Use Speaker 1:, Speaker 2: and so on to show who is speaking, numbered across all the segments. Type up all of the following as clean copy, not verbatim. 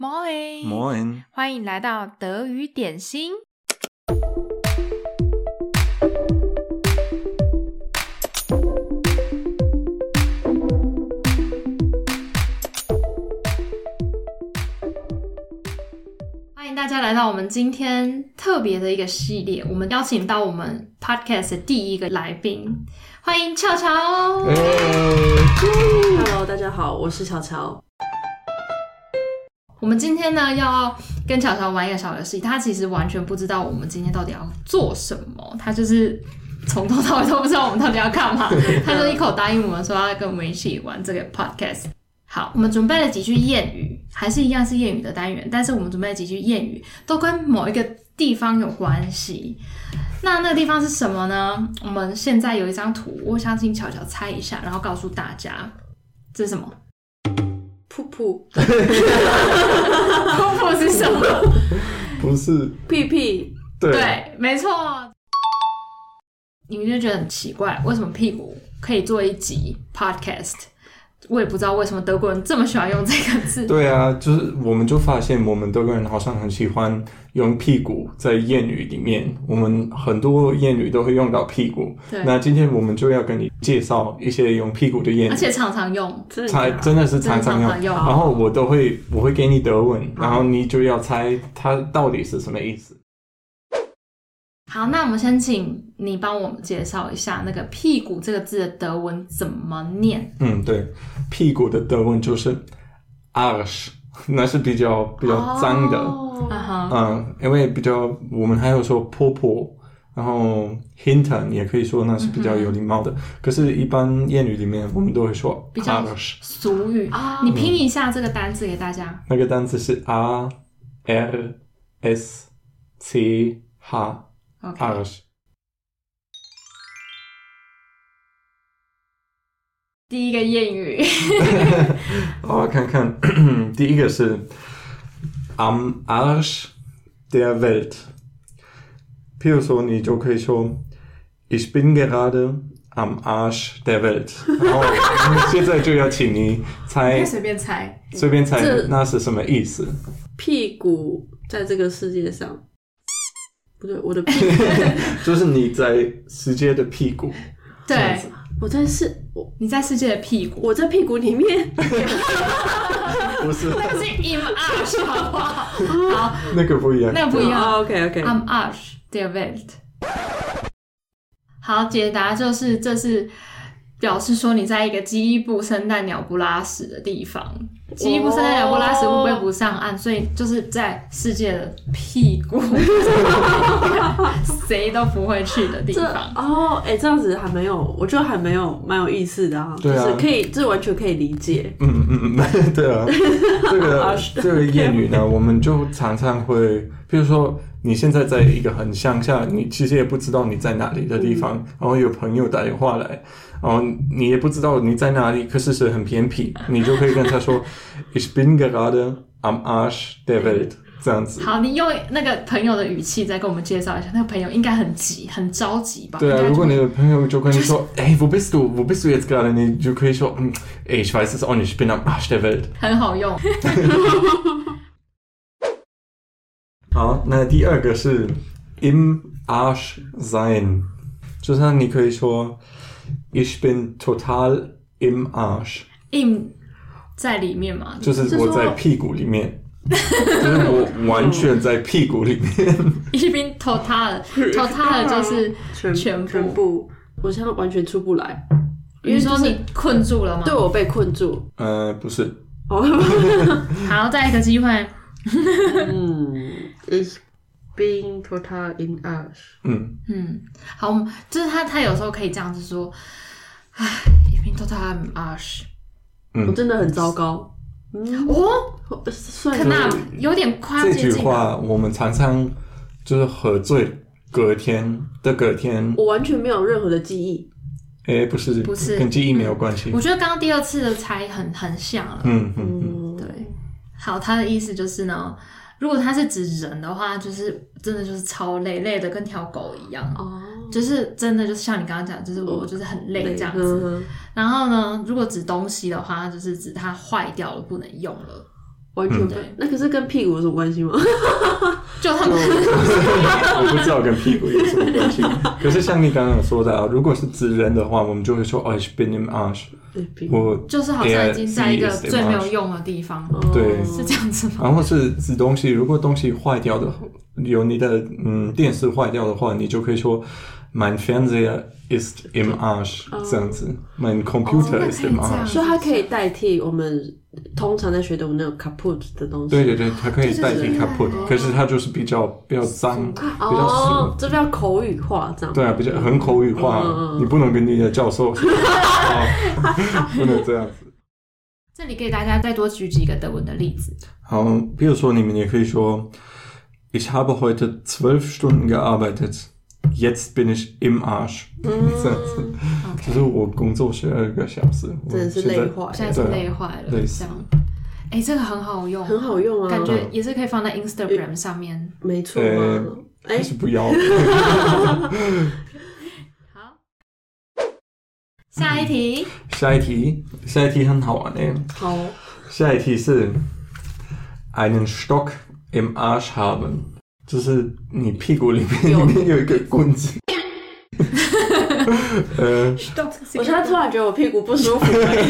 Speaker 1: Moin，
Speaker 2: Moin，
Speaker 1: 歡迎來到德語點心。歡迎大家來到我們今天特別的一個系列，我們邀請到我們 Podcast 的第一個來賓，歡迎喬喬。
Speaker 3: Hello， 大家好，我是喬喬。
Speaker 1: 我們今天呢要跟喬喬玩一個小遊戲，他其實完全不知道我們今天到底要做什麼，他就是從頭到尾都不知道我們到底要幹嘛，他就一口答應我們說要跟我們一起玩這個 podcast。好，我們準備了幾句諺語，還是一樣是諺語的單元，但是我們準備了幾句諺語都跟某一個地方有關係。那個地方是什麼呢？我們現在有一張圖，我想請喬喬猜一下，然後告訴大家這是什麼。
Speaker 3: 噗噗，
Speaker 1: 噗噗是什麼？
Speaker 2: 不是
Speaker 3: 屁屁。
Speaker 1: 對，沒錯。你們就覺得很奇怪，為什麼屁股可以做一集 podcast？ 我也不知道為什麼德國人這麼喜歡用這個字。
Speaker 2: 對啊，就是我們就發現我們德國人好像很喜歡用屁股在諺語裡面，我們很多諺語都會用到屁股。
Speaker 1: 對，
Speaker 2: 那今天我們就要跟你介紹一些用屁股的諺語，
Speaker 1: 而且常常用，
Speaker 2: 真的是常常用。然後我會給你德文，然後你就要猜它到底是什麼意思。
Speaker 1: 好，那我們先請你幫我們介紹一下那個屁股這個字的德文怎麼念。
Speaker 2: 對，屁股的德文就是 Arsch， 那是比較髒的。因為我們還有說婆婆，然後 Hintern 也可以說那是比較有禮貌的。可是，一般諺語裡面我們都會說 Arsch，
Speaker 1: 比較俗語。你拼一下這個單字給大家。
Speaker 2: 那個單字是 A-R-S-C-H。Arsch。
Speaker 1: 第一個諺語，
Speaker 2: 我看看，第一個是 Am Arsch der Welt。譬如說，你就可以說 Ich bin gerade am Arsch der Welt。然後現在就要請你猜，
Speaker 1: 隨便猜，
Speaker 2: 那是什麼意思？
Speaker 3: 屁股在這個世界上。不對，我的屁股
Speaker 2: 就是你在世界的屁股。
Speaker 1: 對，
Speaker 3: 你在世界的屁股，我在屁股裡面。
Speaker 2: 不是，
Speaker 1: 那個是 im Arsch， 好不好？好，
Speaker 2: 那個不一樣。
Speaker 1: Am Arsch der Welt。好，解答就是這是表示說你在一個雞不生蛋、鳥不拉屎的地方。雞不生蛋、鳥不拉屎，烏龜不上岸，所以就是在世界的屁股，誰都不會去的地方。
Speaker 3: 這樣子還沒有，我覺得還蠻有意思的啊。
Speaker 2: 對啊，
Speaker 3: 就是可以，這完全可以理解。
Speaker 2: 對啊，這個諺語呢，我們就常常會，比如說你現在在一個很鄉下，你其實也不知道你在哪裡的地方，然後有朋友打電話來，然後你也不知道你在哪裡，可是很偏僻，你就可以跟他說Ich bin gerade am Arsch der Welt， 這樣子。
Speaker 1: 好，你用那個朋友的語氣再跟我們介紹一下，那個朋友應該很急、很着急吧？
Speaker 2: 對啊，如果你的朋友就跟你說，wo bist du jetzt gerade？ 你就可以說，ich weiß es auch nicht，ich bin am Arsch der Welt。
Speaker 1: 很好用。
Speaker 2: 好，那第二個是 im Arsch sein， 就是你可以說 ich bin total im Arsch。im
Speaker 1: 在裡面嘛，
Speaker 2: 就是我在屁股裡面，就是我完全在屁股裡面。
Speaker 1: Ich bin total 就是全部，
Speaker 3: 我现在完全出不來。
Speaker 1: 比如說你困住了嗎？
Speaker 3: 對，我被困住。
Speaker 2: 不是。
Speaker 1: 好，再一個機會。
Speaker 3: Ich bin total im Arsch。
Speaker 1: 好，就是他有時候可以這樣子說，Ich bin total im Arsch。
Speaker 3: 我真的很糟糕。
Speaker 1: 可能有點誇張。
Speaker 2: 這句話我們常常就是喝醉隔天，
Speaker 3: 我完全沒有任何的記憶。
Speaker 2: 不是，跟記憶沒有關係。
Speaker 1: 我覺得剛剛第二次的猜很像了。對。好，他的意思就是呢，如果他是指人的話，就是真的就是超累的跟條狗一樣。就是真的就是像你剛剛講，就是我就是很累這樣子。然後呢，如果指東西的話，就是指它壞掉了不能用了。
Speaker 3: 完全不。那可是跟屁股有什麼關係嗎？
Speaker 1: 就他們
Speaker 2: 我不知道跟屁股有什麼關係。可是像你剛剛說的啊，如果是指人的話，我們就會說ich bin im Arsch。我
Speaker 1: 就是好像已經在一個最沒有用的地方。
Speaker 2: 對，
Speaker 1: 是這樣子嗎？
Speaker 2: 然後是指東西，如果東西壞掉的，有你的電視壞掉的話，你就可以說mein Fernseher ist im Arsch，這樣子，mein Computer ist im Arsch。
Speaker 3: 所以它可以代替我們通常在學的我們那種 kaputt 的東西。
Speaker 2: 對對對，它可以代替 kaputt，可是它就是比較髒，比較俗，
Speaker 3: 這比較口語化這樣。
Speaker 2: 對啊，比較很口語化，你不能跟你的教授說，不能這樣子。
Speaker 1: 這裡給大家再多舉幾個德文的例子。
Speaker 2: 好，比如說你們也可以說 Ich habe heute 12 Stunden gearbeitet。Jetzt bin ich im Arsch。這樣子，就是我工作12個小時，
Speaker 3: 真的是累壞了，
Speaker 1: 現在是累壞了，這樣。這個很好用，
Speaker 3: 很好用啊，
Speaker 1: 感覺也是可以放在 Instagram 上面。
Speaker 3: 沒錯啊，
Speaker 2: 還是不要。
Speaker 1: 好，下一題。
Speaker 2: 下一題很好玩誒。
Speaker 3: 好，
Speaker 2: 下一題是 einen Stock im Arsch haben。就是你屁股裡面有一個棍子。
Speaker 3: 我現在突然覺得我屁股不舒服。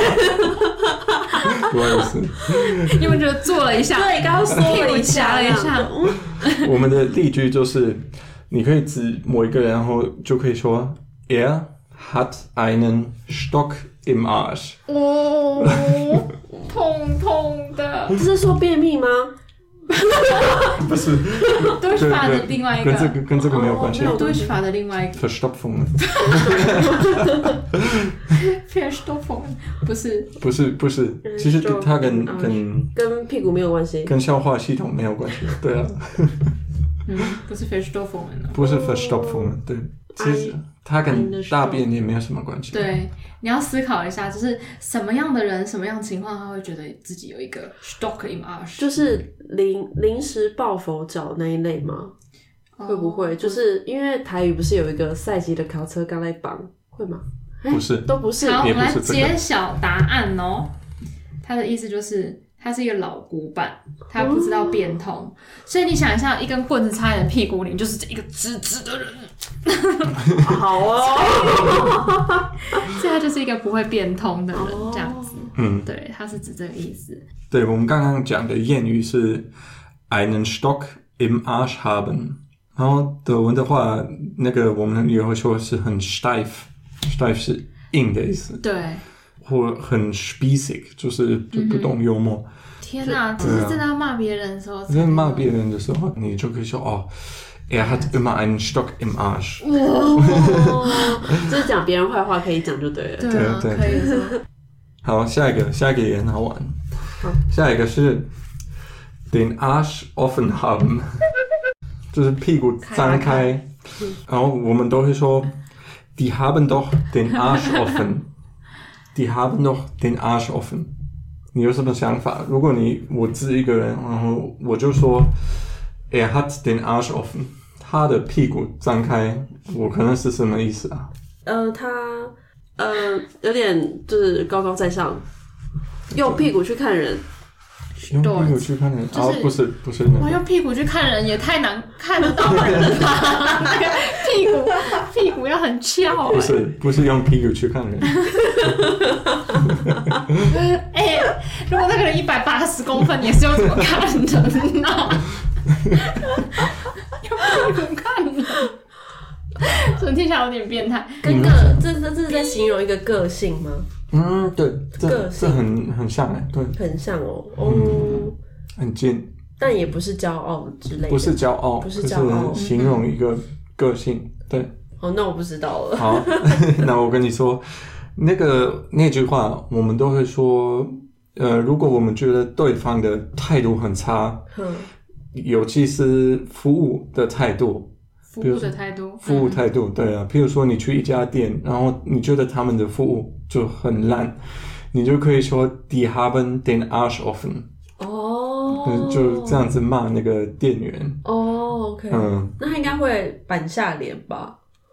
Speaker 2: 我也是。
Speaker 1: 因為覺得坐了一下，對，剛剛縮了一下，
Speaker 2: 我們的例句就是你可以指某一個人，然後就可以說 hat einen Stock im Arsch。
Speaker 1: 痛痛的。
Speaker 3: 这是說便秘嗎？
Speaker 2: 不是
Speaker 1: ，Durchfall的另外一個，
Speaker 2: 跟這個沒有關係。
Speaker 1: Durchfall的另外一個
Speaker 2: Verstopfung。
Speaker 1: Verstopfung 不是，其實它跟
Speaker 3: 屁股沒有關係，
Speaker 2: 跟消化系統沒有關係。對啊。
Speaker 1: 不是 Verstopfung，
Speaker 2: 不是 Verstopfung，對。其實它跟大便也沒有什麼關係。
Speaker 1: 對，你要思考一下，就是什麼樣的人、什麼樣的情況，他會覺得自己有一個 Stock im Arsch，就是
Speaker 3: 臨時抱佛腳那一類嗎？會不會？就是因為台語不是有一個賽級的考車剛來綁，會嗎？
Speaker 2: 不是，
Speaker 3: 都不是。
Speaker 1: 好，我們來揭曉答案哦。他的意思就是他是一個老古板，他不知道變通，所以你想一下，一根棍子插在屁股裡，就是一個直直的人。
Speaker 3: 好哦，
Speaker 1: 所以他就是一個不會變通的人，這樣子。對，他是指這個意思。
Speaker 2: 對，我們剛剛講的諺語是 einen Stock im Arsch haben，然後德文的話，那個我們也會說是很 steif 是硬的意思。
Speaker 1: 對，
Speaker 2: 或很 spießig，就是不懂幽默。
Speaker 1: 天哪，這是真的要罵別人的時候。
Speaker 2: 真的罵別人的時候，你就可以說哦。hat immer einen Stock im Arsch。
Speaker 3: 就是講別人壞話可以講就對了。
Speaker 1: 對啊，可以。
Speaker 2: 好，下一個也很好玩。下一個是 den Arsch offen haben， 就是屁股張開。然後我們都會說 die haben doch den Arsch offen。die haben doch den Arsch offen。你有什麼想法？如果我指一個人，然後我就說hat den Arsch offen。他的屁股張開，我可能是什麼意思啊？
Speaker 3: 他有點就是高高在上，用屁股去看人。
Speaker 2: 用屁股去看人？哦，不是那個。
Speaker 1: 我用屁股去看人也太難看得到人了吧？那個屁股要很翹。
Speaker 2: 不是用屁股去看人。
Speaker 1: 如果那個人180公分，也是用怎麼看人呢？用屁股看人，所以聽起來有點變態。
Speaker 3: 這是在形容一個個性嗎？
Speaker 2: 對，這很像哎，對，
Speaker 3: 很像哦，
Speaker 2: 很近，
Speaker 3: 但也不是驕傲之類的，
Speaker 2: 不是驕傲，是形容一個個性，對。
Speaker 3: 那我不知道了。
Speaker 2: 好，那我跟你說，那句話，我們都會說，如果我們覺得對方的態度很差，尤其是服務的態度，服務態度，對啊。譬如說，你去一家店，然後你覺得他們的服務就很爛，你就可以說 die haben den Arsch offen。就這樣子罵那個店員。
Speaker 3: OK。那他應該會板下臉吧？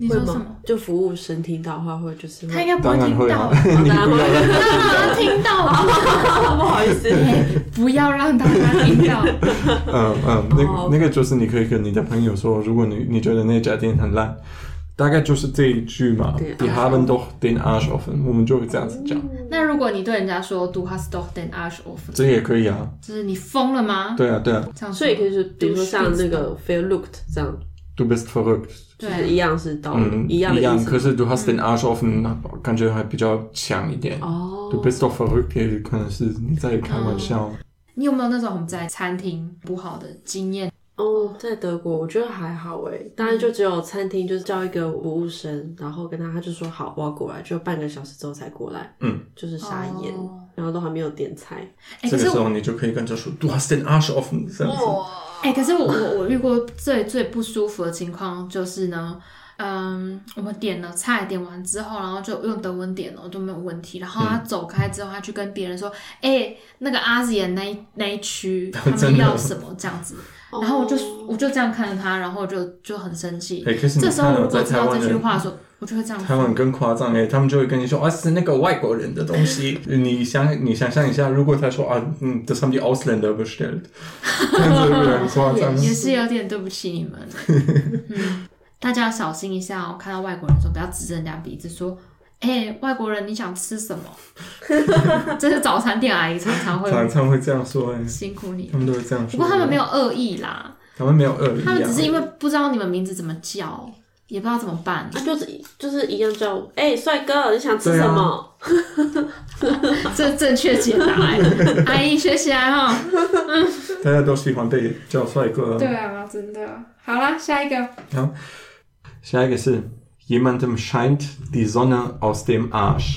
Speaker 1: 你說什麼？
Speaker 3: 就服務生聽到的話，会就是
Speaker 1: 他应該不會聽到，
Speaker 2: 你不要讓
Speaker 1: 他聽到，
Speaker 3: 不好意思，
Speaker 1: 不要讓大家聽到。
Speaker 2: 那個就是你可以跟你的朋友說，如果你覺得那家店很爛，大概就是這一句嘛。Die haben doch den Arsch offen，我們就會這樣子講。
Speaker 1: 那如果你對人家說 Du hast doch den Arsch offen， 這
Speaker 2: 也可以啊。
Speaker 1: 就是你瘋了嗎？
Speaker 2: 對啊，對啊。
Speaker 3: 所以可以是，比如說像那個 verrückt 這樣。
Speaker 2: Du bist verrückt，
Speaker 3: 就是一樣是道理，一樣的意思。
Speaker 2: 可是 Du hast den Arsch offen，感覺還比較強一點。Du bist doch verrückt，也可能是你在開玩笑。
Speaker 1: 你有沒有那種在餐廳不好的經驗？
Speaker 3: 在德國我覺得還好誒，當然就只有餐廳就是叫一個服務生，然後跟他就說好我要過來，就半個小時之後才過來，就是傻眼，然後都還沒有點菜。
Speaker 2: 這個時候你就可以跟他說 Du hast den Arsch offen，這樣子。
Speaker 1: 可是我遇過最不舒服的情況就是呢，我們點了菜，點完之後，然後就用德文點了，都沒有問題。然後他走開之後，他去跟別人說：“那個阿姐那一區，他們要什麼這樣子。”然後我就這樣看着他，然後就很生氣。
Speaker 2: 可是
Speaker 1: 這時候如果知道這句話的時候，我就會這樣。
Speaker 2: 他們更誇張他們就會跟你說是那個外國人的東西。你想象一下，如果他說das haben die Ausländer bestellt， 這樣子會很誇張。
Speaker 1: 也是有點對不起你們。大家要小心一下哦，看到外國人的時候不要指着人家鼻子說外國人你想吃什麼？這是早餐店阿姨常常會這樣說辛苦你，
Speaker 2: 他們都會這樣說。
Speaker 1: 不過他們沒有惡意啦，
Speaker 2: 他們沒有惡意，
Speaker 1: 他們只是因為不知道你們名字怎麼叫，也不知道怎麼辦。
Speaker 3: 就是一樣叫帥哥你想吃什麼？
Speaker 1: 這正確解答阿姨學起來哈。
Speaker 2: 大家都喜歡被叫帥哥。
Speaker 1: 對啊，真的。好啦，下一個。
Speaker 2: 好，下一個是Jemandem scheint die Sonne aus dem Arsch。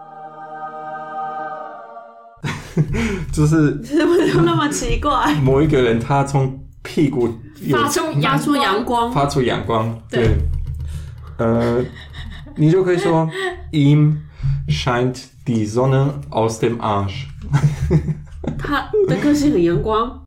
Speaker 2: 就是
Speaker 3: 怎麼就那麼奇怪？
Speaker 2: 某一個人他從屁股
Speaker 1: 發出陽光，
Speaker 2: 對。你就可以說 ihm scheint die Sonne aus dem Arsch。
Speaker 3: 他的個性很陽光。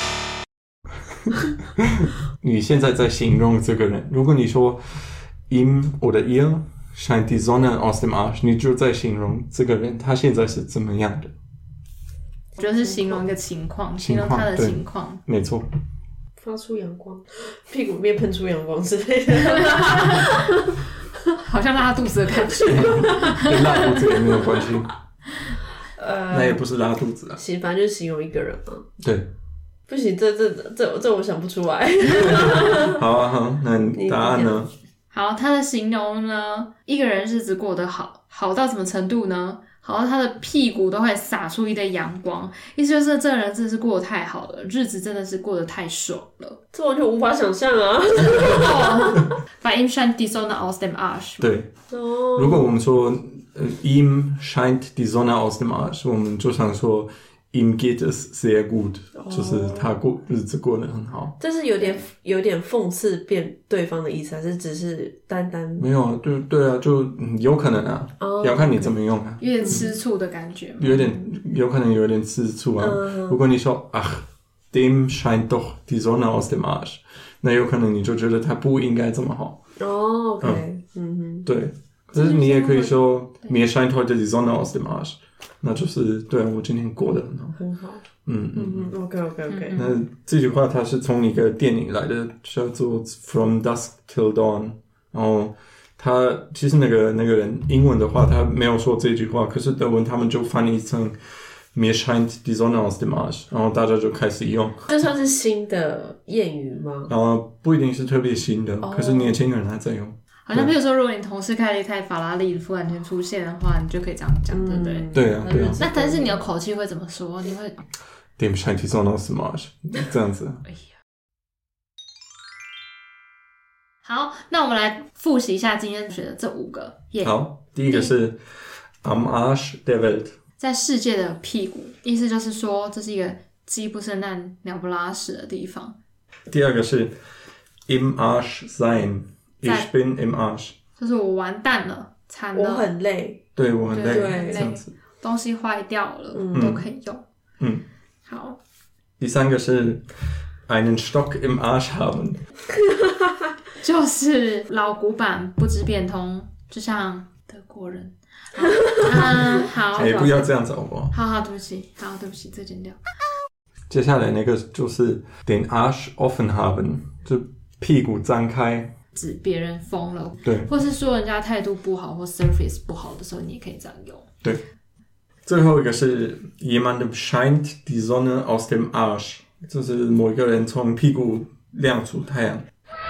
Speaker 2: 你現在在形容這個人，如果你說 ihm oder ihr scheint die Sonne aus dem Arsch， 你就在形容這個人他現在是怎麼樣的。
Speaker 1: 我覺得是形容一個情況，形容他的情況。
Speaker 2: 沒錯。
Speaker 3: 發出陽光，屁股裡面噴出陽光之類的。
Speaker 1: 好像拉肚子的感覺。
Speaker 2: 跟拉肚子也沒有關係。那也不是拉肚子啊。
Speaker 3: 反正就是形容一個人嘛。
Speaker 2: 對。
Speaker 3: 不行，這我想不出來。
Speaker 2: 好，那答案呢？
Speaker 1: 好，他的形容呢，一個人日子過得好到什麼程度呢？好到他的屁股都會灑出一堆陽光，意思就是這個人真的是過得太好了，日子真的是過得太爽了。
Speaker 3: 這我就無法想象啊。
Speaker 1: Bei ihm scheint die Sonne aus dem Arsch。对，
Speaker 2: 如果我們說ihm scheint die Sonne aus dem Arsch， 我們就想說ihm geht es sehr gut， 就是他日子過得很好。
Speaker 3: 這是有點諷刺變對方的意思，還是只是單單
Speaker 2: 沒有啊？對啊，就有可能啊，要看你怎麼用啊。
Speaker 1: 有點吃醋的感覺，
Speaker 2: 有可能有點吃醋啊。如果你說dem scheint doch die Sonne aus dem Arsch， 那有可能你就覺得他不應該這麼好。
Speaker 3: OK，
Speaker 2: 對。可是你也可以說 mir scheint heute die Sonne aus dem Arsch。那就是對啊，我今天過得很好。
Speaker 3: OK。
Speaker 2: 那這句話它是從一個電影來的，叫做 From Dusk Till Dawn。然後他其實那個人英文的話他沒有說這句話，可是德文他們就翻譯成 Mir scheint die Sonne aus dem Arsch， 然後大家就開始用。
Speaker 3: 這算是新的諺語嗎？
Speaker 2: 然後不一定是特別新的，可是年輕人還在用。
Speaker 1: 好像比如說，如果你同事開了一台法拉利突然間出現的話，你就可以這樣講，對不對？
Speaker 2: 對啊。
Speaker 1: 那但是你的口氣會怎麼說？你會
Speaker 2: Dem scheint die Sonne aus dem Arsch， 這樣子。
Speaker 1: 好，那我們來複習一下今天學的這5個。
Speaker 2: 好，第一個是 Am Arsch der Welt， 在
Speaker 1: 世界的屁股，意思就是說這是一個雞不生蛋、鳥不拉屎的地方。
Speaker 2: 第二個是 Im Arsch sein。Ich bin im Arsch， 就是
Speaker 1: 我完蛋了，慘了，
Speaker 3: 我很累，
Speaker 2: 對，我很累，這樣子，
Speaker 1: 東西壞掉了，都可以用。好。
Speaker 2: 第三個是 einen Stock im Arsch haben，
Speaker 1: 就是老古板不知變通，就像德國人。好，
Speaker 2: 不要這樣子好不好？
Speaker 1: 好，对不起，这剪掉。
Speaker 2: 接下來那個就是 den Arsch offen haben， 就屁股張開，
Speaker 1: 指別人瘋了，
Speaker 2: 對，
Speaker 1: 或是說人家態度不好或 service 不好的時候，你也可以這樣用。
Speaker 2: 對，最後一個是 jemandem scheint die Sonne aus dem Arsch， 就是某一個人從屁股亮出太陽，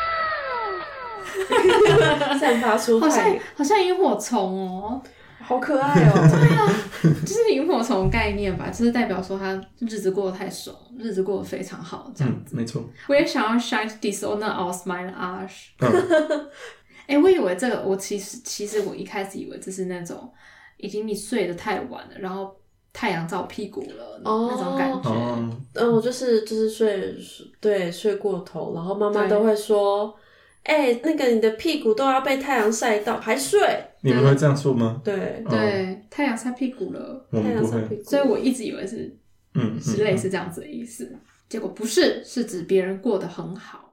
Speaker 3: 散發出太陽，
Speaker 1: 好像螢火蟲哦。
Speaker 3: 好可愛哦！
Speaker 1: 對啊，就是螢火蟲概念吧，就是代表說他日子過得太爽，日子過得非常好，這樣子。
Speaker 2: 沒錯。
Speaker 1: 我也想要 shine die Sonne aus meinem Arsch。我以為這個，我其實我一開始以為這是那種已經你睡得太晚了，然後太陽照屁股了那種感覺。
Speaker 3: 我就是睡過頭，然後媽媽都會說。那個你的屁股都要被太陽曬到，還睡？
Speaker 2: 你們會這樣說嗎？
Speaker 3: 對，
Speaker 1: 太陽曬屁股了，
Speaker 2: 我們不會，
Speaker 1: 所以我一直以為是類似這樣子的意思，結果不是，是指別人過得很好。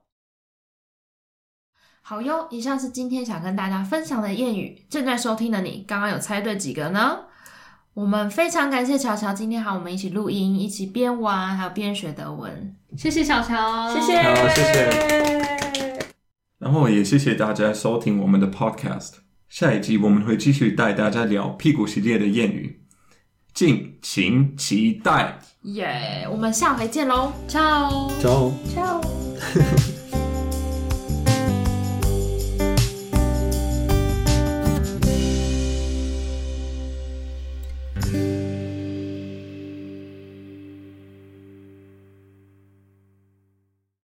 Speaker 1: 好喲，以上是今天想跟大家分享的諺語。正在收聽的你，剛剛有猜對幾個呢？我們非常感謝喬喬今天和我們一起錄音，一起邊玩還有邊學德文。謝謝喬喬，
Speaker 3: 謝謝，
Speaker 2: 好，謝謝。然後也謝謝大家收聽我們的 podcast， 下一集我們會繼續帶大家聊屁股系列的諺語，敬請期待。
Speaker 1: 耶，我們下回見嘍，ciao。
Speaker 3: ciao。